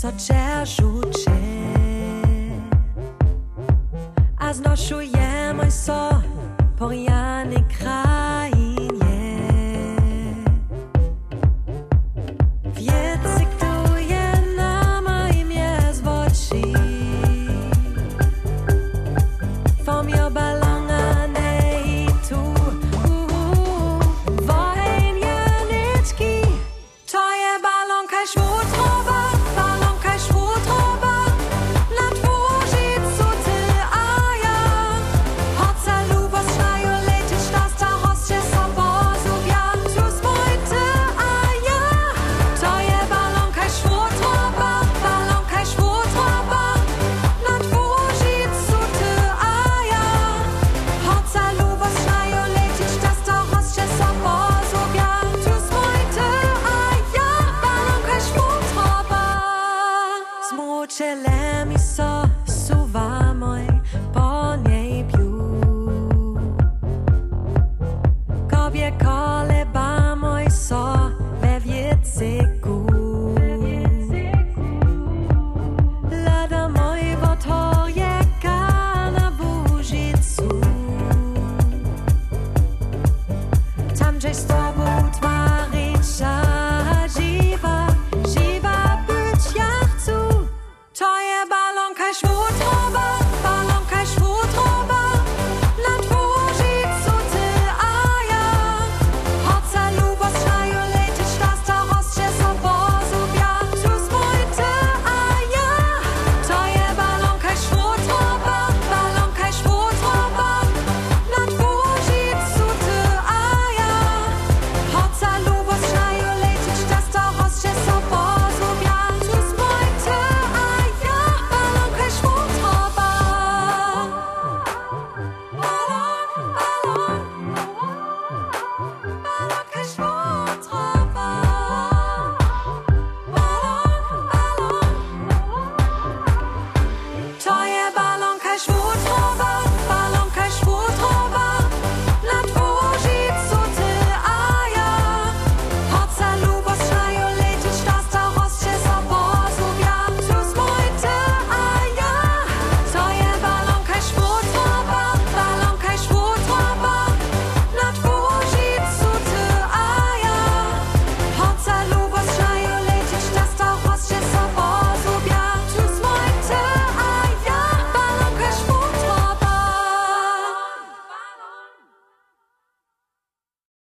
rzucie. A znoszujemy so poriany krainie. Wiecek tu je na moim jezwoci. Vom jo balonga nej tu. Wohin je nitki. To je balonka szwutrowa. Balonka szwutrowa. Na dworzycu ty a ja. Hoca lubo strajo lecieć. Das ta hoscie sobozów ja. Tu spojty a ja. To je balonka szwutrowa. Balonka szwutrowa. Na dworzycu ty a ja. Hoca lubo strajo lecieć. Das ta hoscie sobozów ja. Tu spojty a ja. Balonka szwutrowa. Zmučele mi so suva moj po niej piu. Kobie koleba moj so we wiecyku. Lada moj wotorjeka na Bužicu. Tam gdzieś z tobą twarycia żywa, żywa być ja chcę. To je balonka szwutrowa, balonka szwutrowa. Na dworzycu ty a ja. Hoca lubo strajo lecieć, das ta hoscie sobozów ja. Tu spojty a ja. To je balonka szwutrowa, balonka szwutrowa. Na dworzycu ty a ja. Hoca lubo strajo lecieć, das ta hoscie sobozów ja. Tu spojty a ja. Balonka szwutrowa. Balonka szwutrowa. To je balonka szwutrowa.